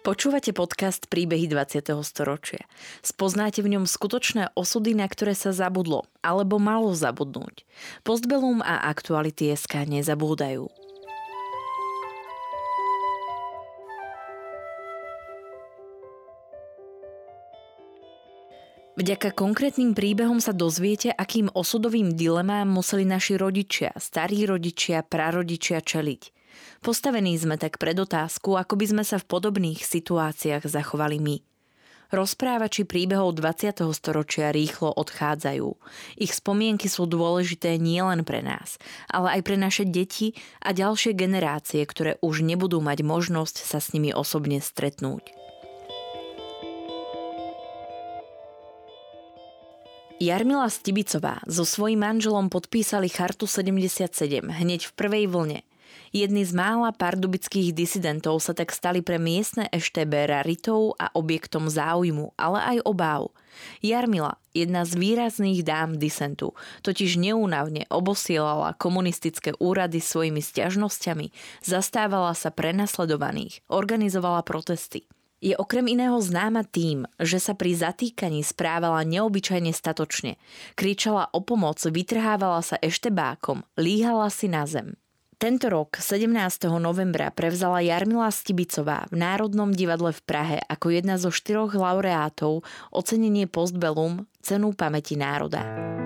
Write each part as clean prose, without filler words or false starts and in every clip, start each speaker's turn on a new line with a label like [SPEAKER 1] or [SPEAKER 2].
[SPEAKER 1] Počúvate podcast Príbehy 20. storočia. Spoznáte v ňom skutočné osudy, na ktoré sa zabudlo, alebo malo zabudnúť. Postbellum a Aktuality.sk nezabúdajú. Vďaka konkrétnym príbehom sa dozviete, akým osudovým dilemám museli naši rodičia, starí rodičia, prarodičia čeliť. Postavení sme tak pred otázku, ako by sme sa v podobných situáciách zachovali my. Rozprávači príbehov 20. storočia rýchlo odchádzajú. Ich spomienky sú dôležité nielen pre nás, ale aj pre naše deti a ďalšie generácie, ktoré už nebudú mať možnosť sa s nimi osobne stretnúť. Jarmila Stibicová so svojím manželom podpísali Chartu 77 hneď v prvej vlne. Jedni z mála pardubických disidentov sa tak stali pre miestne EŠTB raritou a objektom záujmu, ale aj obáv. Jarmila, jedna z výrazných dám disentu, totiž neúnavne obosielala komunistické úrady svojimi sťažnosťami, zastávala sa prenasledovaných, organizovala protesty. Je okrem iného známa tým, že sa pri zatýkaní správala neobyčajne statočne. Kričala o pomoc, vytrhávala sa eštebákom, líhala si na zem. Tento rok, 17. novembra, prevzala Jarmila Stibicová v Národnom divadle v Prahe ako jedna zo 4 laureátov ocenenie Postbellum, cenu pamäti národa.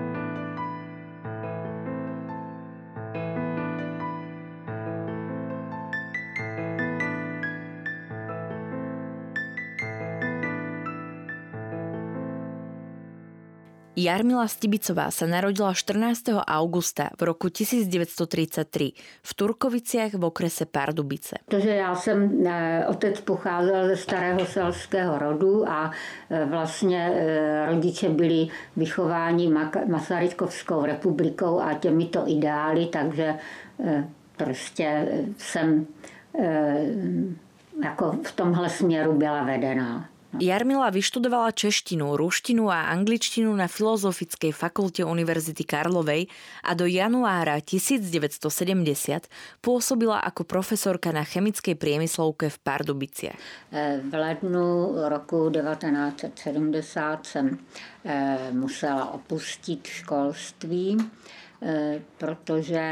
[SPEAKER 1] Jarmila Stibicová sa narodila 14. augusta v roku 1933 v Turkoviciach v okrese Pardubice.
[SPEAKER 2] Protože já jsem, otec pocházel ze starého selského rodu a vlastně rodiče byli vychováni Masarykovskou republikou a těmito ideály, takže prostě jsem jako v tomhle směru byla vedená.
[SPEAKER 1] Jarmila vyštudovala češtinu, ruštinu a angličtinu na Filozofickej fakulte Univerzity Karlovej a do januára 1970 pôsobila ako profesorka na chemickej priemyslovke v Pardubiciach.
[SPEAKER 2] V lednu roku 1970 jsem musela opustit školství, protože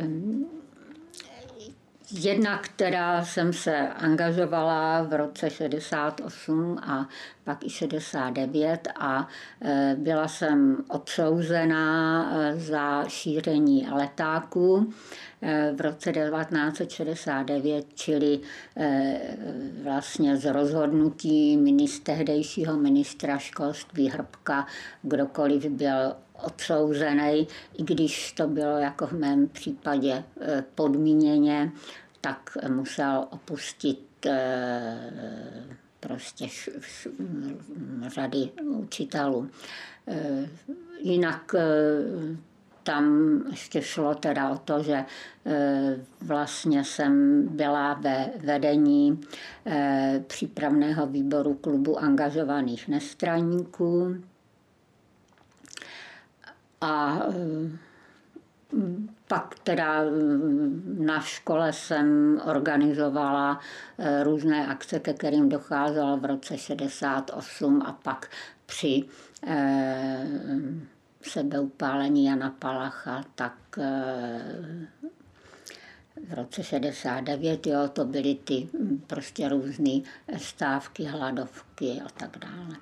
[SPEAKER 2] jednak teda jsem se angažovala v roce 68 a pak i 69 a byla jsem odsouzená za šíření letáků v roce 1969, čili vlastně z rozhodnutí tehdejšího ministra školství Hrbka, kdokoliv byl odsouzený, i když to bylo jako v mém případě podmíněně, tak musel opustit prostě řady učitelů. Jinak tam ještě šlo teda o to, že vlastně jsem byla ve vedení přípravného výboru klubu angažovaných nestraníků a pak teda na škole jsem organizovala různé akce, ke kterým docházelo v roce 68 a pak při sebeupálení Jana Palacha, tak v roce 69, jo, to byly ty prostě různé stávky, hladovky a tak dále.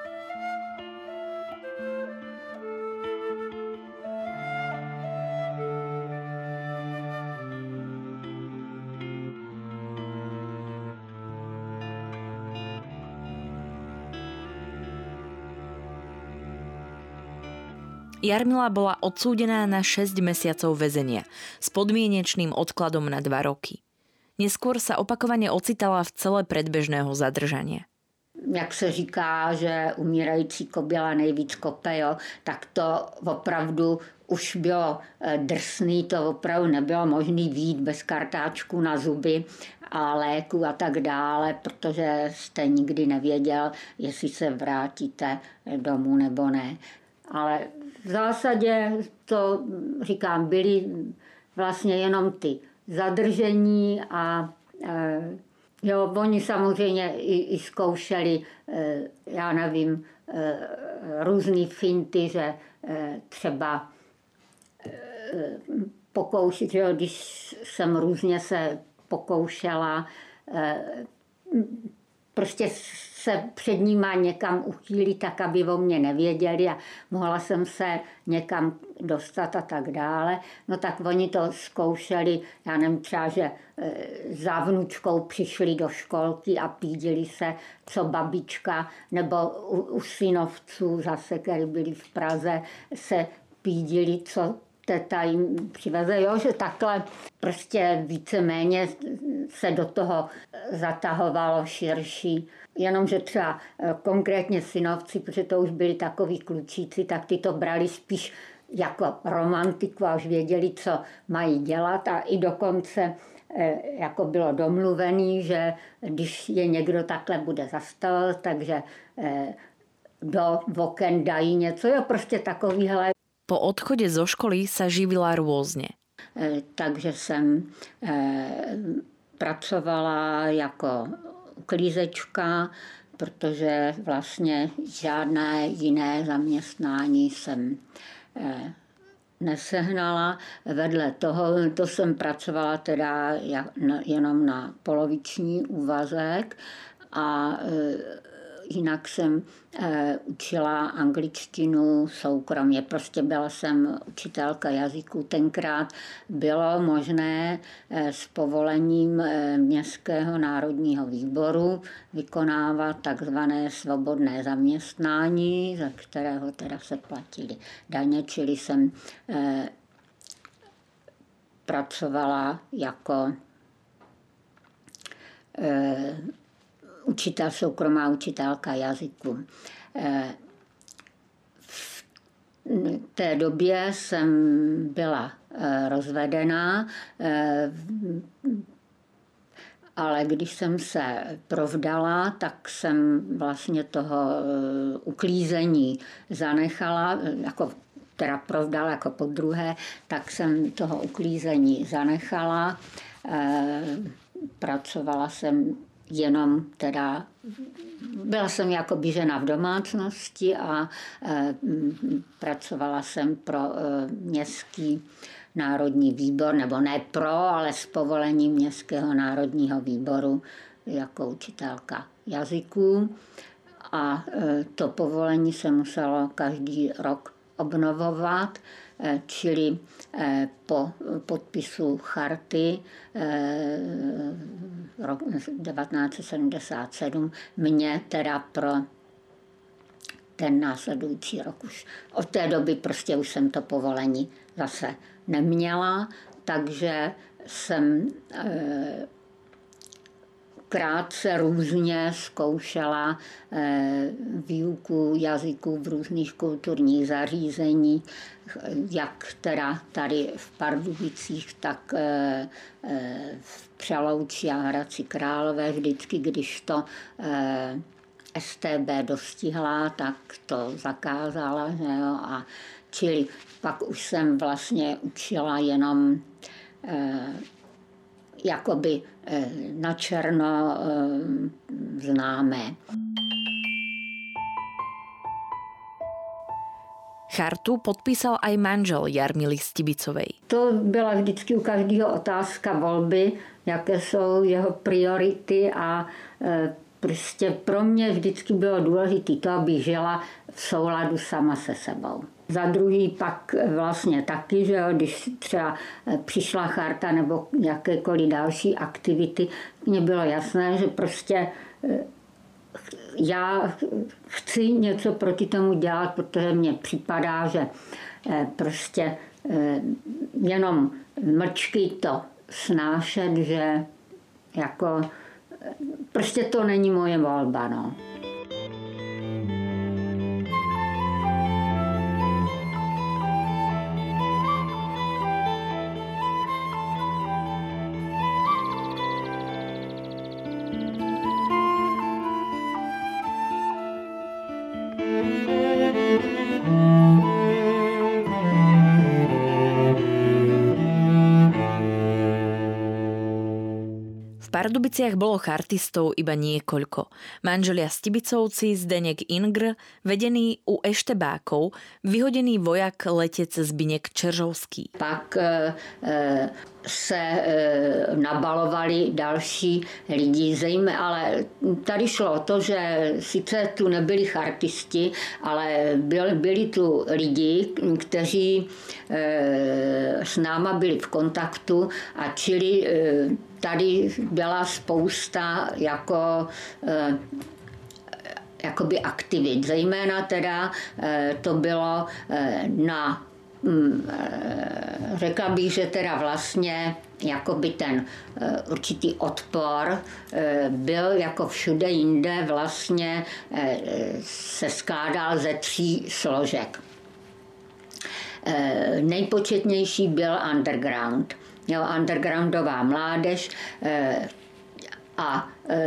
[SPEAKER 1] Jarmila bola odsúdená na 6 mesiacov väzenia s podmienečným odkladom na 2 roky. Neskôr sa opakovane ocitala v cele predbežného zadržania.
[SPEAKER 2] Jak se říká, že umírající koběla nejvíc kope, jo, tak to opravdu už bylo drsný, to opravdu nebylo možné vyjít bez kartáčku na zuby a léku a tak dále, protože jste nikdy nevěděl, jestli se vrátíte domů nebo ne. Ale v zásadě to, říkám, byly vlastně jenom ty zadržení a Jo, oni samozřejmě i zkoušeli, já nevím, různý finty, že třeba pokoušet, že jo, když jsem různě se pokoušela prostě se před nima někam uchýlit, tak aby o mě nevěděli a mohla jsem se někam dostat a tak dále. No tak oni to zkoušeli, já nevím, třeba, že za vnučkou přišli do školky a pídili se, co babička, nebo u synovců zase, který byli v Praze, se pídili, co teta jim přiveze, jo, že takhle prostě víceméně se do toho zatahovalo širší. Jenomže třeba konkrétně synovci, protože to už byli takový klučíci, tak ty to brali spíš jako romantiku a už věděli, co mají dělat a i dokonce jako bylo domluvený, že když je někdo takhle bude zastavil, takže do oken dají něco, jo, prostě takovýhle.
[SPEAKER 1] Po odchode zo školy sa živila rôzne.
[SPEAKER 2] Takže jsem pracovala jako uklízečka, protože vlastně žádné jiné zaměstnání jsem nesehnala. Vedle toho, to jsem pracovala teda jenom na poloviční úvazek a jinak jsem učila angličtinu soukromě. Prostě byla jsem učitelka jazyků. Tenkrát bylo možné s povolením Městského národního výboru vykonávat takzvané svobodné zaměstnání, za kterého teda se platily daně, čili jsem pracovala jako soukromá učitelka jazyku. V té době jsem byla rozvedená, ale když jsem se provdala, tak jsem vlastně toho uklízení zanechala, jako teda provdala jako podruhé, tak jsem toho uklízení zanechala. Pracovala jsem jenom teda, byla jsem jakoby žena v domácnosti a pracovala jsem pro Městský národní výbor, nebo ne pro, ale s povolením Městského národního výboru jako učitelka jazyků. A to povolení se muselo každý rok obnovovat, čili po podpisu charty rok 1977 mě teda pro ten následující rok už. Od té doby prostě už jsem to povolení zase neměla, takže jsem krátce různě zkoušela výuku jazyků v různých kulturních zařízeních, jak teda tady v Pardubicích, tak v Přelouči a Hradci Králové. Vždycky, když to StB dostihla, tak to zakázala. Že jo? A čili pak už jsem vlastně učila jenom jakoby na černo známé.
[SPEAKER 1] Chartu podpísal aj manžel Jarmily Stibicovej.
[SPEAKER 2] To byla vždycky u každého otázka volby, jaké jsou jeho priority a prostě pro mě vždycky bylo důležité to, abych žila v souladu sama se sebou. Za druhý pak vlastně taky, že jo, když třeba přišla charta nebo jakékoliv další aktivity, mně bylo jasné, že prostě já chci něco proti tomu dělat, protože mně připadá, že prostě jenom mlčky to snášet, že jako prostě to není moje volba, no.
[SPEAKER 1] V Pardubiciach bolo chartistov iba niekoľko. Manželia Stibicovci, Zdeněk Ingr, vedený u eštebákov, vyhodený vojak letec Zbyněk Čeržovský.
[SPEAKER 2] Pak se nabalovali další lidi, ale tady šlo o to, že sice tu nebyli chartisti, ale byli tu lidi, kteří s náma byli v kontaktu a čili tady byla spousta jakoby aktivit. Zejména teda to bylo na řekla bych, že teda vlastně jakoby ten určitý odpor byl jako všude jinde vlastně se skládal ze 3 složek. Nejpočetnější byl underground. Undergroundová mládež a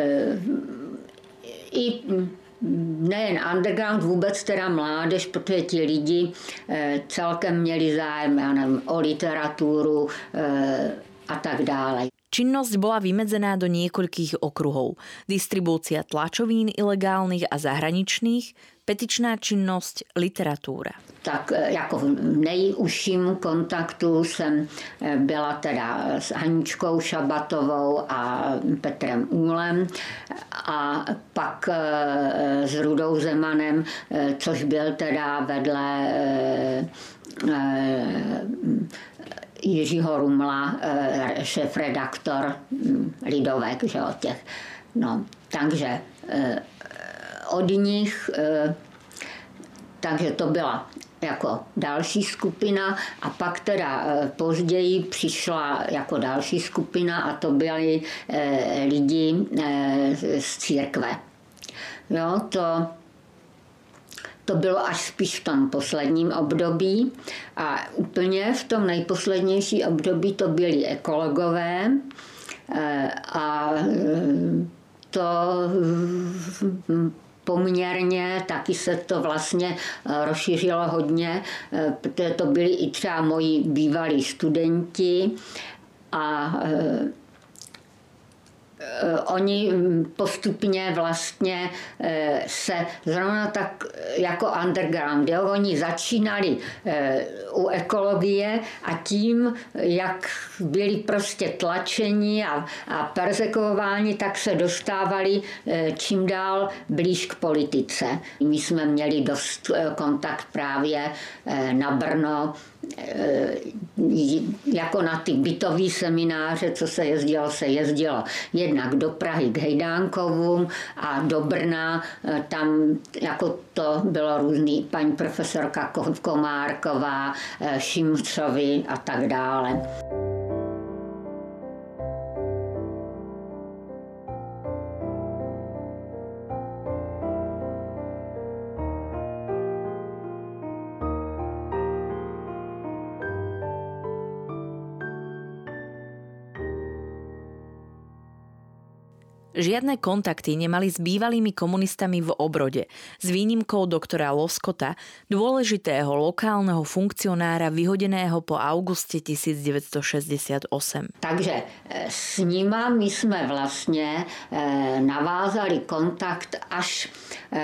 [SPEAKER 2] i nejen underground, vůbec teda mládež, protože ti lidi celkem měli zájem, já nevím, o literatúru a tak dále.
[SPEAKER 1] Činnosť bola vymedzená do niekoľkých okruhov. Distribúcia tlačovín ilegálnych a zahraničných, petičná činnosť, literatúra.
[SPEAKER 2] Tak jako v nejužším kontaktu jsem byla teda s Aničkou Šabatovou a Petrem Úlem a pak s Rudou Zemanem, což byl teda vedle Jiřího Rumla, šéfredaktor Lidovek, že od těch. No, takže od nich, takže to byla jako další skupina a pak teda později přišla jako další skupina a to byli lidi z církve. Jo, to bylo až spíš v tom posledním období a úplně v tom nejposlednější období to byli ekologové a to poměrně taky se to vlastně rozšířilo hodně, protože to byli i třeba moji bývalí studenti a oni postupně vlastně se zrovna tak jako underground, jo? Oni začínali u ekologie a tím, jak byli prostě tlačeni a perzekuováni, tak se dostávali čím dál blíž k politice. My jsme měli dost kontakt právě na Brno, jako na ty bytové semináře, co se jezdilo jednak do Prahy k Hejdánkovům a do Brna, tam jako to bylo různý, paní profesorka Komárková, Šimcovi a tak dále.
[SPEAKER 1] Žiadne kontakty nemali s bývalými komunistami v Obrode, s výnimkou doktora Loskota, dôležitého lokálneho funkcionára vyhodeného po auguste 1968.
[SPEAKER 2] Takže s nima my jsme vlastně navázali kontakt až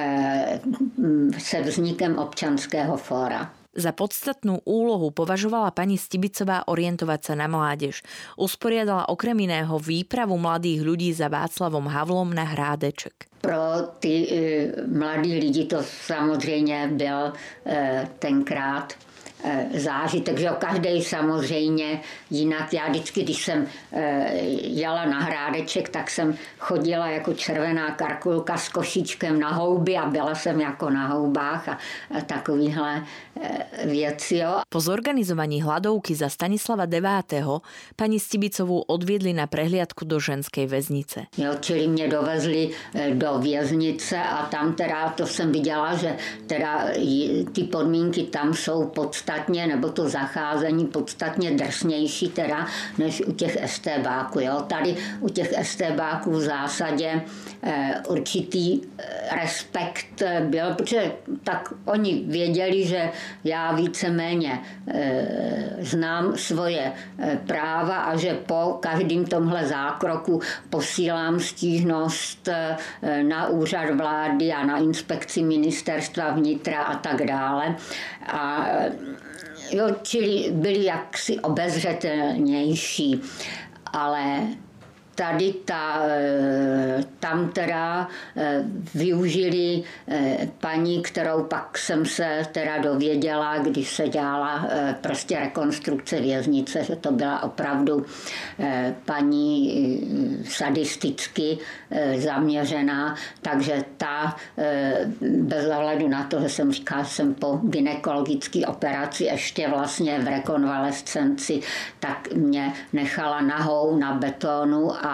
[SPEAKER 2] se vznikem Občanského fóra.
[SPEAKER 1] Za podstatnú úlohu považovala pani Stibicová orientovať sa na mládež. Usporiadala okrem iného výpravu mladých ľudí za Václavom Havlom na Hrádeček.
[SPEAKER 2] Pro ty mladí lidi to samozřejmě byl tenkrát zážitek, že každý samozřejmě jinak. Já vždycky, když jsem jela na Hrádeček, tak jsem chodila jako červená karkulka s košíčkem na houby a byla jsem jako na houbách a takovýhle věci. Jo.
[SPEAKER 1] Po zorganizovaní hladovky za Stanislava IX. Pani Stibicovú odviedli na prehliadku do ženskej väznice.
[SPEAKER 2] Jo, čili mě dovezli do věznice a tam teda to jsem viděla, že teda ty podmínky tam jsou podstatné. podstatně, nebo to zacházení podstatně drsnější teda, než u těch estébáků. Jo? Tady u těch estébáků v zásadě určitý respekt byl, protože tak oni věděli, že já víceméně znám svoje práva a že po každém tomhle zákroku posílám stížnost na úřad vlády a na inspekci ministerstva vnitra a tak dále. A jo, čili byli jaksi obezřetelnější, ale tady tam teda využili paní, kterou pak jsem se teda dověděla, když se dělala prostě rekonstrukce věznice, že to byla opravdu paní sadisticky zaměřená, takže ta bez ohledu na to, že jsem říkala, že jsem po gynekologické operaci ještě vlastně v rekonvalescenci, tak mě nechala nahou na betonu a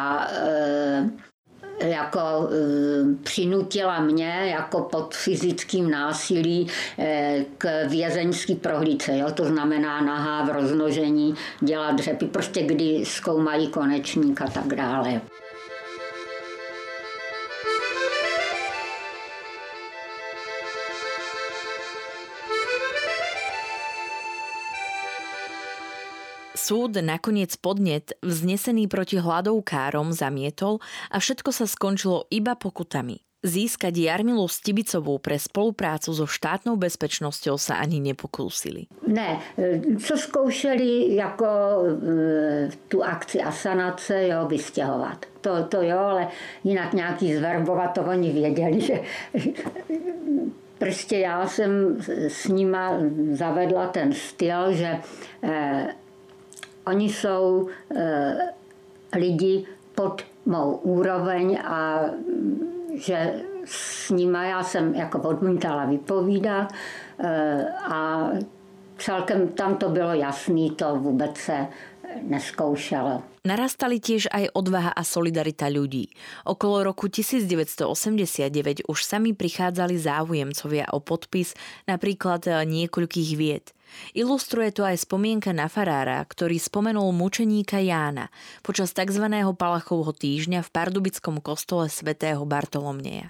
[SPEAKER 2] jako přinutila mě jako pod fyzickým násilí k vězeňské prohlídce. Jo? To znamená nahá v roznožení, dělat dřepy, prostě kdy zkoumají konečník a tak dále.
[SPEAKER 1] Súd nakoniec podnet vznesený proti hladovkárom zamietol a všetko sa skončilo iba pokutami. Získať Jarmilu Stibicovú pre spoluprácu so štátnou bezpečnosťou sa ani nepokúsili.
[SPEAKER 2] Ne, co zkoušeli jako tu akci asanace, jo, vystěhovat. To jo, ale jinak nějaký zverbovat, to oni věděli, že prostě já jsem s nima zavedla ten styl, že oni jsou lidi pod mou úroveň a že s nima já jsem jako odmítala vypovídat a celkem tam to bylo jasný, to vůbec se neskoušalo.
[SPEAKER 1] Narastali tiež aj odvaha a solidarita ľudí. Okolo roku 1989 už sami prichádzali záujemcovia o podpis napríklad niekoľkých vied. Ilustruje to aj spomienka na farára, ktorý spomenul mučeníka Jána počas tzv. Palachovho týždňa v pardubickom kostole svätého Bartolomieja.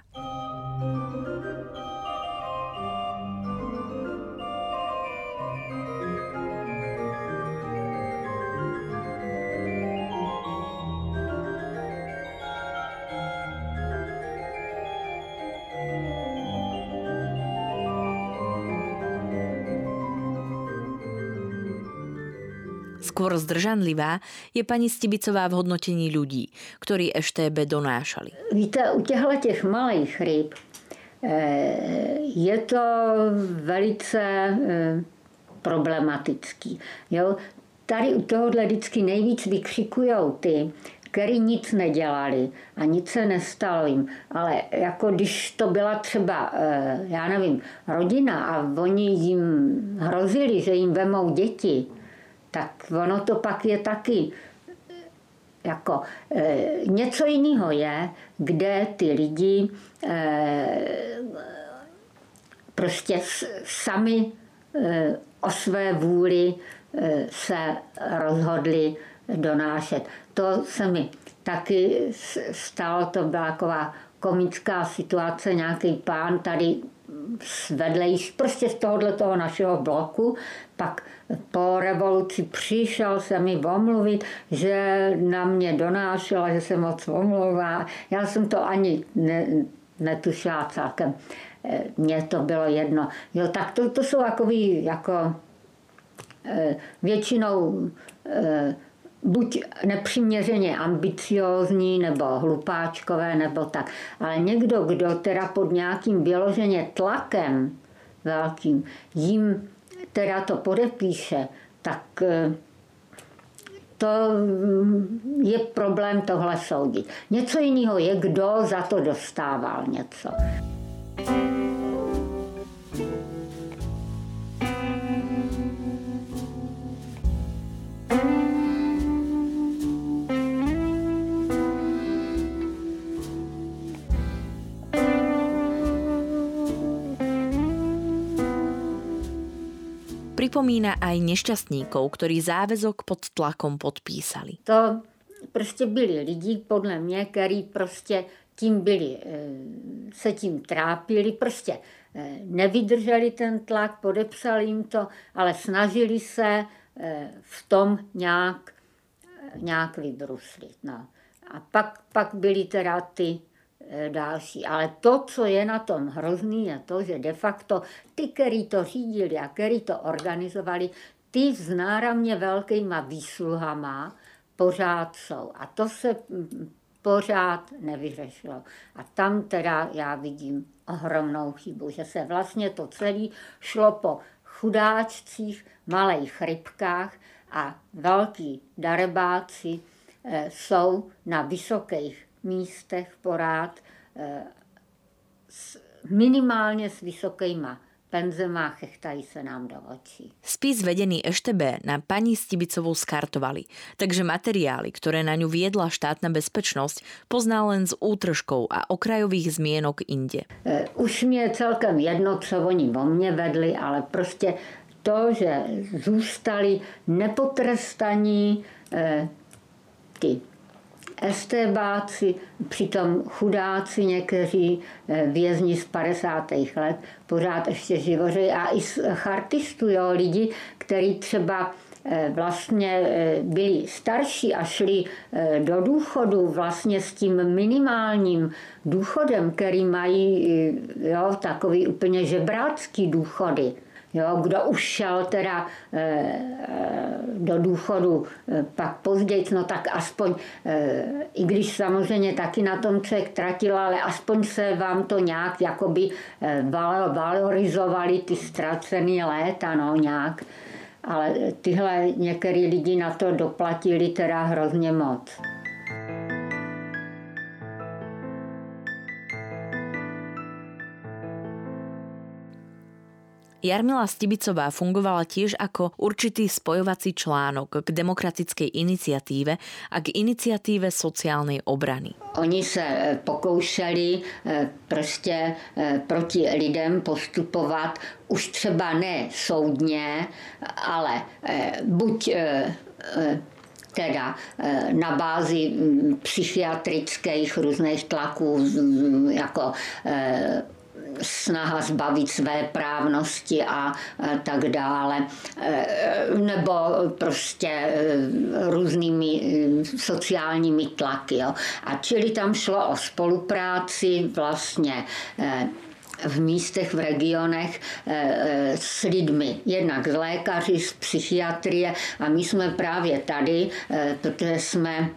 [SPEAKER 1] Skôr zdržanlivá je pani Stibicová v hodnotení ľudí, ktorí EŠTB donášali.
[SPEAKER 2] Víte, u těch malých ryb je to velice problematický. Jo? Tady u tohohle vždycky nejvíc vykřikujou ty, který nic nedělali a nic se nestalo jim. Ale jako když to byla třeba, já nevím, rodina a oni jim hrozili, že jim vemou děti, tak ono to pak je taky jako něco jiného je, kde ty lidi prostě sami o své vůli se rozhodli donášet. To se mi taky stalo, to byla taková komická situace, nějaký pán tady vedlejší, prostě z toho našeho bloku, pak po revoluci přišel se mi omluvit, že na mě donášela, že se moc omlouvá. Já jsem to ani netušila celkem. Mně to bylo jedno. Jo, tak to jsou takový jako většinou buď nepřiměřeně ambiciózní, nebo hlupáčkové, nebo tak. Ale někdo, kdo teda pod nějakým vyloženě tlakem velkým jim teda to podepíše, tak to je problém tohle soudit. Něco jiného je, kdo za to dostával něco.
[SPEAKER 1] Pripomína aj nešťastníkov, ktorí záväzok pod tlakom podpísali.
[SPEAKER 2] To prostě byli lidi, podle mě, který prostě tím byli, se tím trápili, prostě nevydrželi ten tlak, podepsali jim to, ale snažili se v tom nějak vybruslit. No. A pak byly teda ty další. Ale to, co je na tom hrozný, je to, že de facto ty, který to řídili a který to organizovali, ty s náramně velkýma výsluhama pořád jsou. A to se pořád nevyřešilo. A tam teda já vidím ohromnou chybu, že se vlastně to celé šlo po chudáčcích, malých rybkách a velký darebáci jsou na vysokých místech porád minimálně s vysokýma penzema, chechtají se nám do očí.
[SPEAKER 1] Spis vedený EŠTB na pani Stibicovú skartovali, takže materiály, ktoré na ňu viedla štátna bezpečnosť, pozná len s útržkou a okrajových zmienok inde.
[SPEAKER 2] Už mi je celkem jedno, co oni o mne vedli, ale prostě to, že zůstali nepotrestaní ty estébáci, přitom chudáci někteří vězni z 50. let pořád ještě živoří a i z chartistů, jo, lidi, kteří třeba vlastně byli starší a šli do důchodu vlastně s tím minimálním důchodem, který mají, jo, takový úplně žebrácký důchody. Jo, kdo už šel teda do důchodu pak později, no tak aspoň, i když samozřejmě taky na tom člověk tratil, ale aspoň se vám to nějak jakoby valorizovali ty ztracené léta, no nějak. Ale tyhle některý lidi na to doplatili teda hrozně moc.
[SPEAKER 1] Jarmila Stibicová fungovala tiež ako určitý spojovací článok k demokratickej iniciatíve a k iniciatíve sociálnej obrany.
[SPEAKER 2] Oni se pokoušeli prostě proti lidem postupovat už třeba ne soudně, ale buď teda na bázi psychiatrických různých tlaků, jako snaha zbavit své právnosti a tak dále, nebo prostě různými sociálními tlaky. Jo. A čili tam šlo o spolupráci vlastně v místech, v regionech s lidmi, jednak z lékaři, z psychiatrie a my jsme právě tady, protože jsme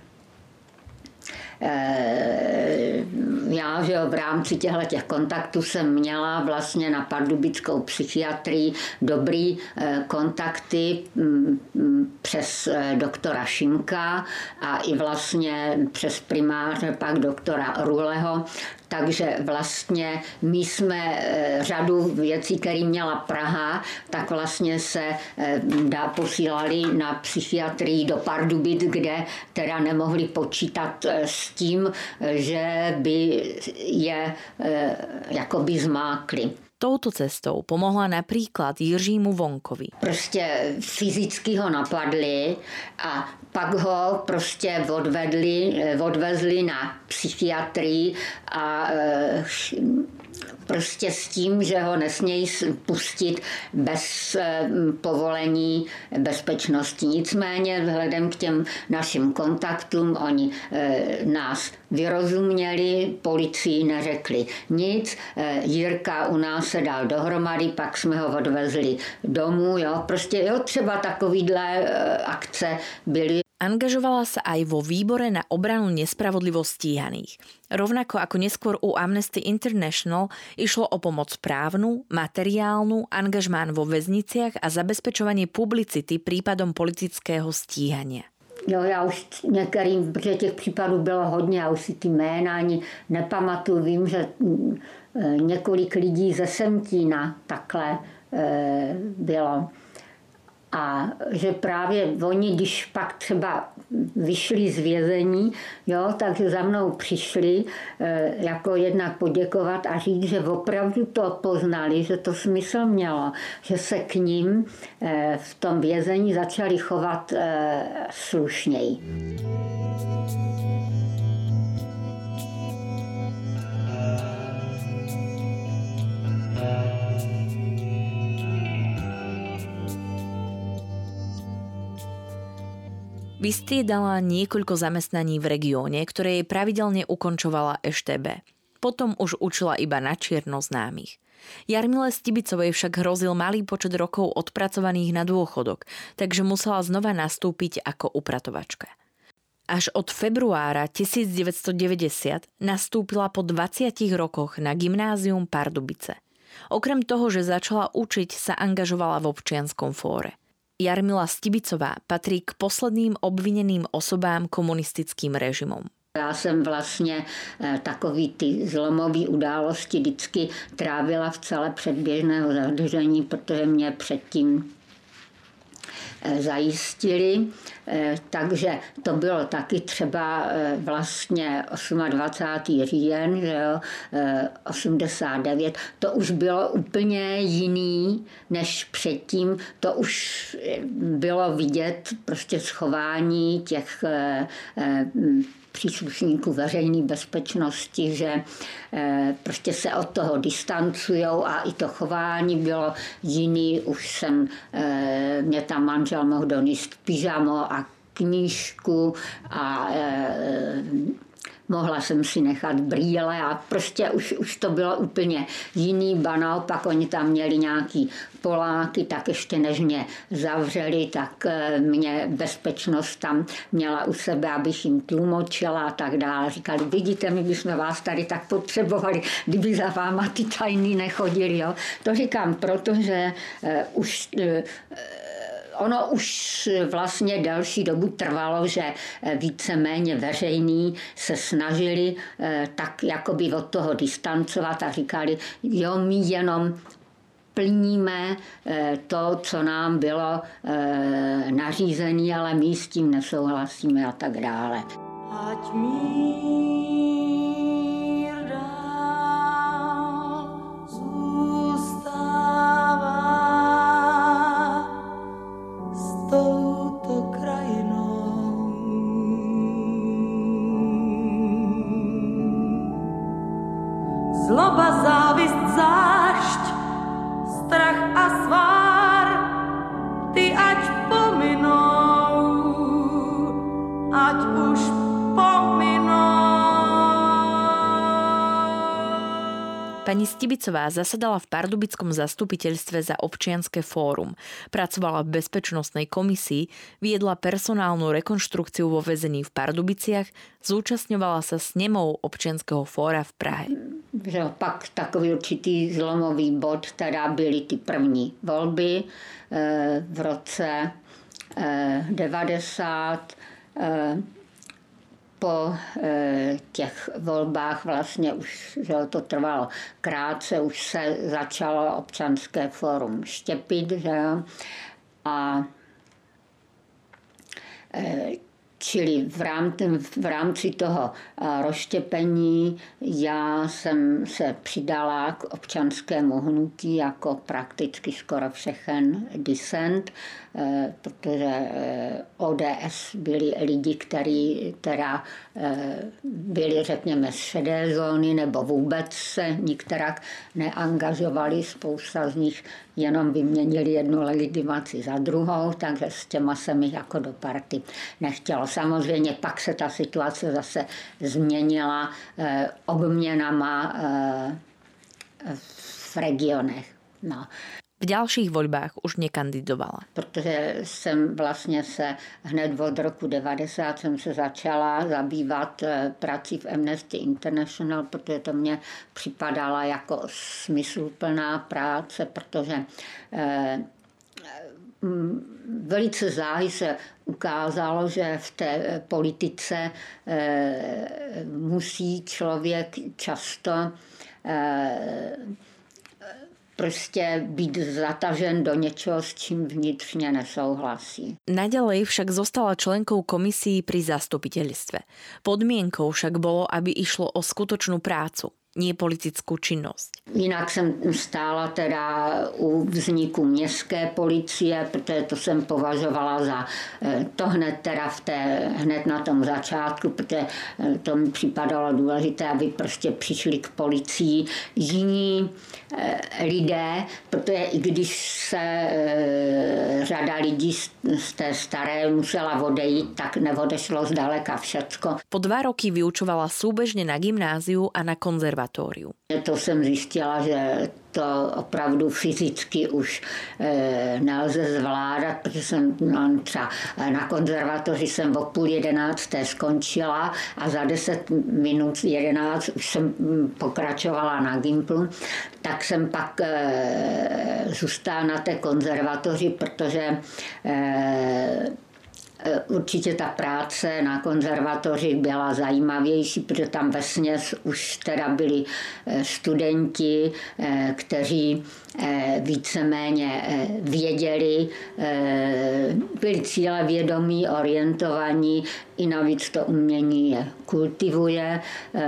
[SPEAKER 2] já, že v rámci těchto kontaktů jsem měla vlastně na pardubickou psychiatrii dobrý kontakty přes doktora Šimka a i vlastně přes primáře pak doktora Ruleho. Takže vlastně my jsme řadu věcí, které měla Praha, tak vlastně se posílali na psychiatrii do Pardubic, kde teda nemohli počítat s tím, že by je jakoby zmákli.
[SPEAKER 1] Touto cestou pomohla napríklad Jiřímu Vonkovi.
[SPEAKER 2] Prostě fyzicky ho napadli a pak ho prostě odvezli na psychiatrii a prostě s tím, že ho nesmějí pustit bez povolení bezpečnosti. Nicméně vzhledem k těm našim kontaktům oni nás vyrozuměli, policii neřekli nic. Jirka u nás se dal dohromady, pak jsme ho odvezli domů. Jo. Prostě jo, třeba takovýhle akce byly.
[SPEAKER 1] Angažovala sa aj vo výbore na obranu nespravodlivo stíhaných. Rovnako ako neskôr u Amnesty International išlo o pomoc právnu, materiálnu, angažmán vo väzniciach a zabezpečovanie publicity prípadom politického stíhania.
[SPEAKER 2] Jo, já už některým, protože těch případů bylo hodně, já už si ty jména ani nepamatuju. Vím, že několik lidí ze Semtína takhle bylo. A že právě oni, když pak třeba vyšli z vězení, jo, takže za mnou přišli jako jednak poděkovat a říct, že opravdu to poznali, že to smysl mělo, že se k ním v tom vězení začali chovat slušněji.
[SPEAKER 1] Vystriedala niekoľko zamestnaní v regióne, ktoré jej pravidelne ukončovala EŠTB. Potom už učila iba na čierno známych. Jarmile Stibicovej však hrozil malý počet rokov odpracovaných na dôchodok, takže musela znova nastúpiť ako upratovačka. Až od februára 1990 nastúpila po 20 rokoch na gymnázium Pardubice. Okrem toho, že začala učiť, sa angažovala v občianskom fóre. Jarmila Stibicová patrí k posledným obvineným osobám komunistickým režimom.
[SPEAKER 2] Já jsem vlastně takový ty zlomové události vždycky trávila v celé předběžného zadržení, protože mě předtím zajistili, takže to bylo taky třeba vlastně 28. říjen, že jo, 89, to už bylo úplně jiný než předtím, to už bylo vidět prostě schování těch příslušníků veřejné bezpečnosti, že prostě se od toho distancujou a i to chování bylo jiný. Už mě tam manžel mohl donést pyžamo a knížku a mohla jsem si nechat brýle a prostě už to bylo úplně jiný, ba naopak oni tam měli nějaký Poláky, tak ještě než mě zavřeli, tak mě bezpečnost tam měla u sebe, abych jim tlumočila a tak dále. Říkali, vidíte, my bychom vás tady tak potřebovali, kdyby za váma ty tajný nechodili. Jo? To říkám, protože ono už vlastně delší dobu trvalo, že víceméně veřejní se snažili tak jakoby od toho distancovat a říkali, jo, my jenom plníme to, co nám bylo nařízené, ale my s tím nesouhlasíme a tak dále. Ať mír dál zůstává s touto krajinou. Zloba, závist, zášť, strach a svár, ty ať pominou, ať už pominou.
[SPEAKER 1] Pani Stibicová zasadala v Pardubickom zastupiteľstve za občianske fórum, pracovala v bezpečnostnej komisii, viedla personálnu rekonštrukciu vo väzení v Pardubiciach, zúčastňovala sa snemov občianskeho fóra v Prahe.
[SPEAKER 2] Že pak takový určitý zlomový bod, teda byly ty první volby v roce 90. Po těch volbách vlastně už, že to trvalo krátce, už se začalo občanské fórum štěpit, že jo, a čili v rámci toho rozštěpení já jsem se přidala k občanskému hnutí jako prakticky skoro všechen disent, protože ODS byli lidi, kteří teda byli, řekněme, z šedé zóny nebo vůbec se nikterak neangažovali. Spousta z nich jenom vyměnili jednu legitimaci za druhou, takže s těma se mi jako do party nechtělo. Samozřejmě pak se ta situace zase změnila obměnama v regionech. No.
[SPEAKER 1] V ďalších voľbách už nekandidovala.
[SPEAKER 2] Protože jsem vlastně se hned od roku 90 jsem se začala zabývat prací v Amnesty International, protože to mě připadala jako smysluplná práce, protože velice záhy se ukázalo, že v té politice musí člověk často prostě být zatažen do něčoho, s čím vnitřně nesouhlasí.
[SPEAKER 1] Naďalej však zostala členkou komisí pri zastupiteľstve. Podmienkou však bolo, aby išlo o skutočnú prácu, nie politickú činnosť.
[SPEAKER 2] Jinak jsem stála teda u vzniku městské policie, protože to jsem považovala za to hned na tom začátku, protože to mi připadalo důležité, aby prostě přišli k policii jiní lidé, protože i když se řada lidí z té staré musela odejít, tak neodešlo zdaleka všecko.
[SPEAKER 1] Po 2 roky vyučovala súbežne na gymnáziu a na konzervatóriu.
[SPEAKER 2] To jsem zjistila, že to opravdu fyzicky už nelze zvládat, protože jsem třeba na konzervatoři jsem o 10:30 skončila a za 10 minut 11 už jsem pokračovala na gymplu, tak jsem pak zůstala na té konzervatoři, protože určitě ta práce na konzervatoři byla zajímavější, protože tam vesměs už teda byli studenti, kteří víceméně věděli, byli cílevědomí, orientovaní, i navíc to umění je kultivuje.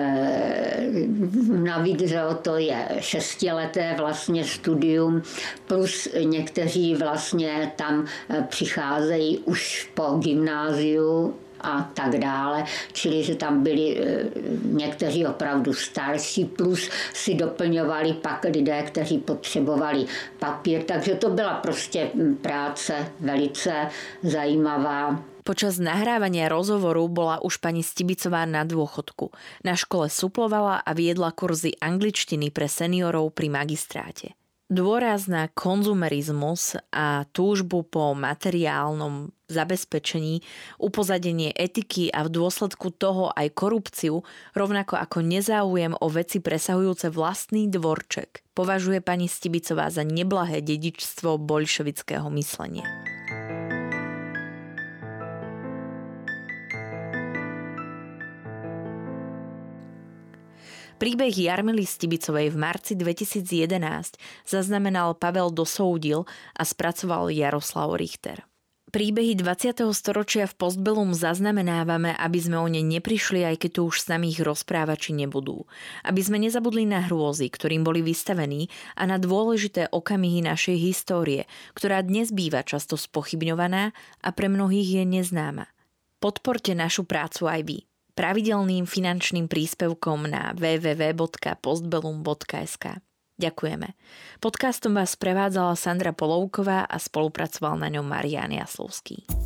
[SPEAKER 2] Navíc, že to je 6leté vlastně studium, plus někteří vlastně tam přicházejí už po gymnáziu a tak dále, čili že tam byli někteří opravdu starší, plus si doplňovali pak lidé, kteří potřebovali papír, takže to byla prostě práce velice zajímavá.
[SPEAKER 1] Počas nahrávania rozhovoru bola už pani Stibicová na dôchodku. Na škole suplovala a viedla kurzy angličtiny pre seniorov pri magistráte. Dôraz na konzumerizmus a túžbu po materiálnom zabezpečení, upozadenie etiky a v dôsledku toho aj korupciu, rovnako ako nezáujem o veci presahujúce vlastný dvorček, považuje pani Stibicová za neblahé dedičstvo boľševického myslenia. Príbeh Jarmily Stibicovej v marci 2011 zaznamenal Pavel Dosoudil a spracoval Jaroslav Richter. Príbehy 20. storočia v Postbellum zaznamenávame, aby sme o ne neprišli, aj keď tu už s nami ich rozprávači nebudú. Aby sme nezabudli na hrôzy, ktorým boli vystavení, a na dôležité okamihy našej histórie, ktorá dnes býva často spochybňovaná a pre mnohých je neznáma. Podporte našu prácu aj vy pravidelným finančným príspevkom na www.postbellum.sk. Ďakujeme. Podcastom vás prevádzala Sandra Polovková a spolupracoval na ňom Marián Jaslovský.